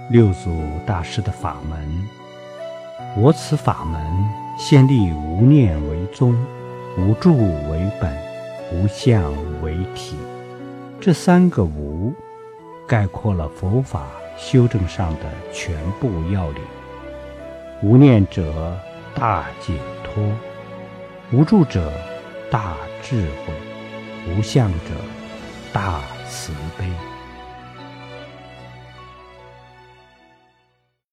六祖大师的法门。我此法门先立无念为宗，无住为本，无相为体。这三个无概括了佛法修正上的全部要领。无念者大解脱，无住者大智慧，无相者大慈悲。